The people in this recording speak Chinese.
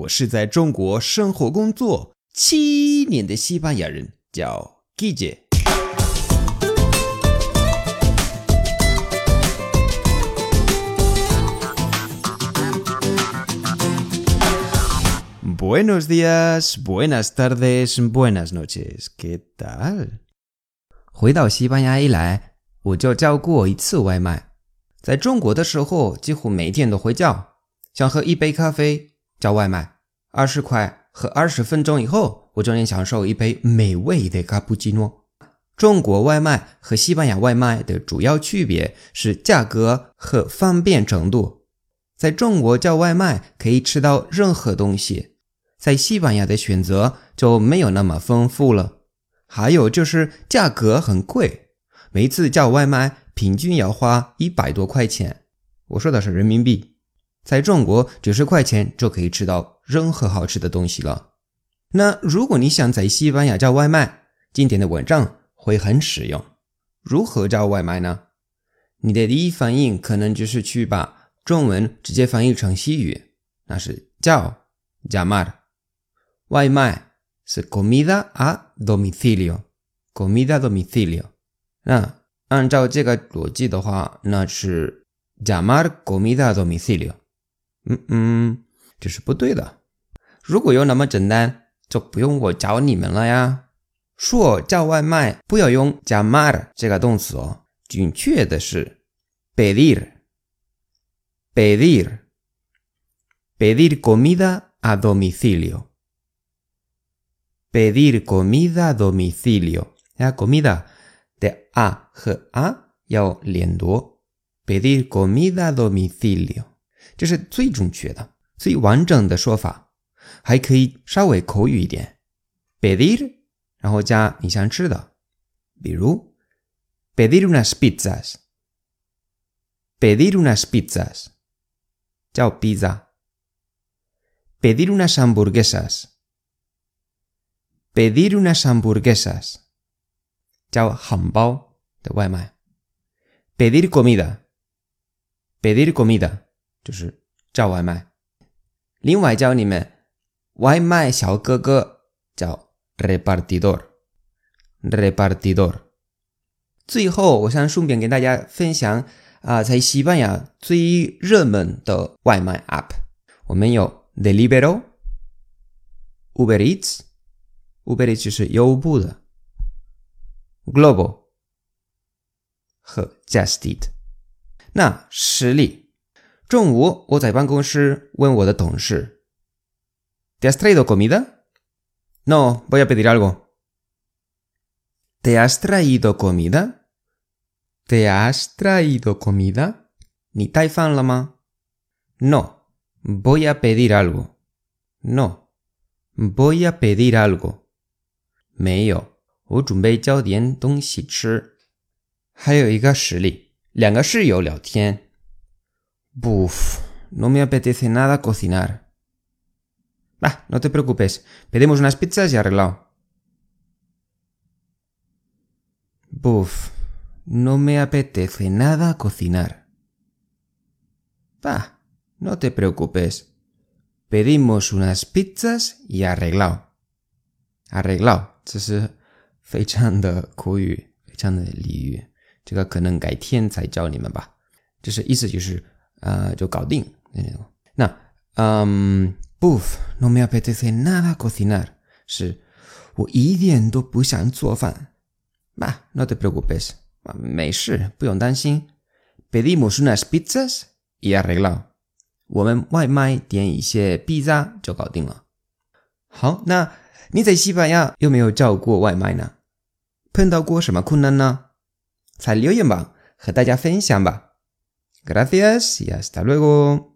我是在中国生活工作7年的西班牙人，叫 Guille。Buenos días, buenas tardes, buenas noches. ¿Qué tal? 回到西班牙以来，我就叫过一次外卖。在中国的时候，几乎每天都会叫。想喝一杯咖啡，叫外卖，20块和20分钟以后，我就能享受一杯美味的卡布奇诺。中国外卖和西班牙外卖的主要区别是价格和方便程度。在中国叫外卖可以吃到任何东西，在西班牙的选择就没有那么丰富了。还有就是价格很贵，每次叫外卖平均要花100多块钱，我说的是人民币。在中国90块钱就可以吃到任何好吃的东西了。那如果你想在西班牙叫外卖，今天的文章会很实用。如何叫外卖呢？你的第一反应可能就是去把中文直接翻译成西语，那是叫 llamar。 外卖是 comida a domicilio， comida a domicilio。 那按照这个逻辑的话，那是 llamar comida a domicilio。这是不对的。如果有那么简单，就不用我教你们了呀。说叫外卖不要用 llamar 这个动词哦，准确的是 pedir comida a domicilio。 pedir comida a domicilio， comida 的 a 和 a 要连读， pedir comida a domicilio，这是最准确的、最完整的说法，还可以稍微口语一点 pedir 然后加你想吃的，比如 pedir unas pizzas， pedir unas pizzas 叫 pizza。 pedir unas hamburguesas， pedir unas hamburguesas 叫汉堡的外卖。 pedir comida 就是叫外卖。另外教你们外卖小哥哥叫 repartidor。 最后我想顺便给大家分享在西班牙最热门的外卖 app， 我们有 Deliveroo、 Uber Eats 就是优步的， Globo 和 Just Eat。 那实例，中午我在办公室问我的同事 ¿Te has traído comida? No, voy a pedir algo. ¿Te has traído comida? ¿Te has traído comida? 你带饭了吗？ No, voy a pedir algo. No, voy a pedir algo. 没有，我准备叫点东西吃。还有一个实例，两个室友聊天。Buf, no me apetece nada cocinar. Va, no te preocupes, pedimos unas pizzas y arreglado. Buf, no me apetece nada cocinar. Va, no te preocupes, pedimos unas pizzas y arreglado. Arreglado, 这是非常的口语，非常的俚语，这个可能改天才教你们吧。这是意思就是就搞定那Buf, no me apetece nada cocinar 是我一点都不想做饭。Bah, no te preocupes, 没事，不用担心。Pedimos unas pizzas y arreglado， 我们外卖点一些披萨就搞定了。好，那你在西班牙有没有叫过外卖呢？碰到过什么困难呢？在留言吧，和大家分享吧。Gracias y hasta luego.